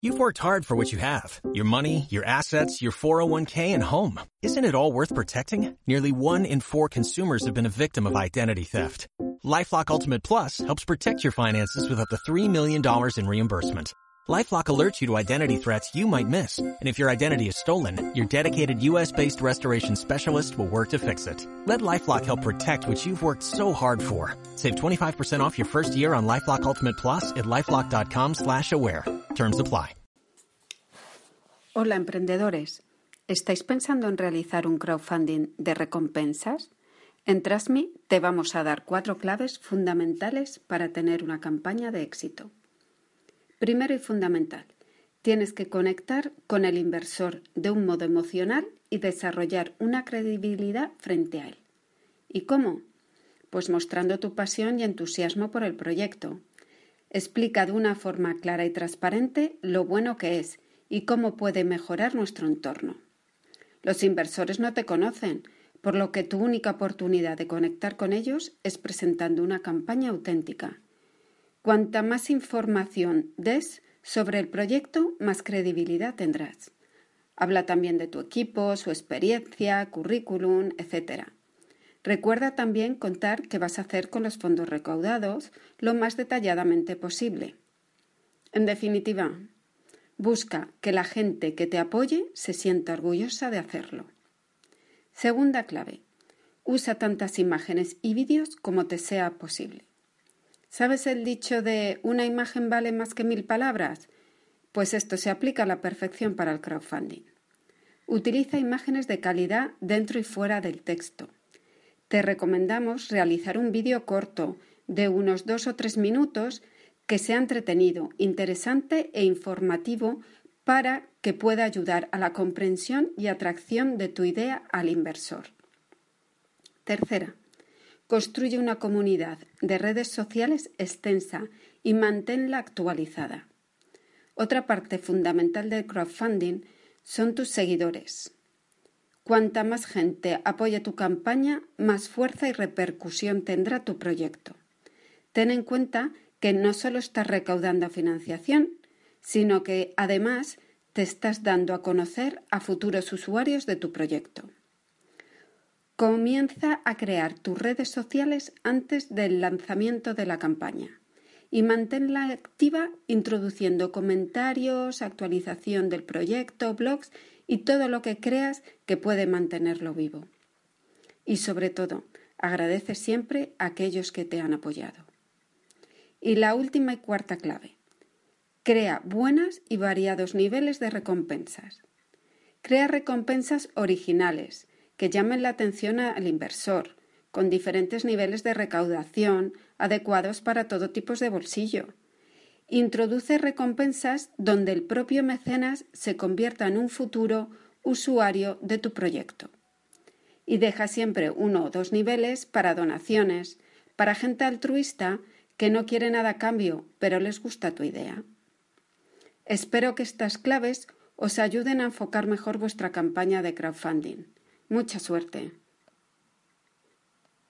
You've worked hard for what you have. Your money, your assets, your 401k, and home. Isn't it all worth protecting? Nearly 1 in 4 consumers have been a victim of identity theft. LifeLock Ultimate Plus helps protect your finances with up to $3 million in reimbursement. LifeLock alerts you to identity threats you might miss. And if your identity is stolen, your dedicated U.S.-based restoration specialist will work to fix it. Let LifeLock help protect what you've worked so hard for. Save 25% off your first year on LifeLock Ultimate Plus at LifeLock.com/aware. Terms apply. Hola emprendedores, ¿estáis pensando en realizar un crowdfunding de recompensas? En Trust.me te vamos a dar 4 claves fundamentales para tener una campaña de éxito. Primero y fundamental, tienes que conectar con el inversor de un modo emocional y desarrollar una credibilidad frente a él. ¿Y cómo? Pues mostrando tu pasión y entusiasmo por el proyecto. Explica de una forma clara y transparente lo bueno que es y cómo puede mejorar nuestro entorno. Los inversores no te conocen, por lo que tu única oportunidad de conectar con ellos es presentando una campaña auténtica. Cuanta más información des sobre el proyecto, más credibilidad tendrás. Habla también de tu equipo, su experiencia, currículum, etc. Recuerda también contar qué vas a hacer con los fondos recaudados lo más detalladamente posible. En definitiva, busca que la gente que te apoye se sienta orgullosa de hacerlo. Segunda clave, usa tantas imágenes y vídeos como te sea posible. ¿Sabes el dicho de una imagen vale más que 1000 palabras? Pues esto se aplica a la perfección para el crowdfunding. Utiliza imágenes de calidad dentro y fuera del texto. Te recomendamos realizar un vídeo corto de unos 2 o 3 minutos que sea entretenido, interesante e informativo para que pueda ayudar a la comprensión y atracción de tu idea al inversor. Tercera, construye una comunidad de redes sociales extensa y manténla actualizada. Otra parte fundamental del crowdfunding son tus seguidores. Cuanta más gente apoye tu campaña, más fuerza y repercusión tendrá tu proyecto. Ten en cuenta que no solo estás recaudando financiación, sino que además te estás dando a conocer a futuros usuarios de tu proyecto. Comienza a crear tus redes sociales antes del lanzamiento de la campaña y manténla activa introduciendo comentarios, actualización del proyecto, blogs y todo lo que creas que puede mantenerlo vivo. Y sobre todo, agradece siempre a aquellos que te han apoyado. Y la última y cuarta clave. Crea buenas y variados niveles de recompensas. Crea recompensas originales que llamen la atención al inversor, con diferentes niveles de recaudación adecuados para todo tipo de bolsillo. Introduce recompensas donde el propio mecenas se convierta en un futuro usuario de tu proyecto. Y deja siempre 1 o 2 niveles para donaciones, para gente altruista que no quiere nada a cambio, pero les gusta tu idea. Espero que estas claves os ayuden a enfocar mejor vuestra campaña de crowdfunding. Mucha suerte.